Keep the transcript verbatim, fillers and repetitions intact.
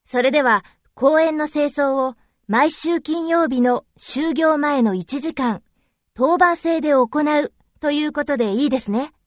それでは公園の清掃を毎週金曜日の就業前のいちじかん、当番制で行うということでいいですね。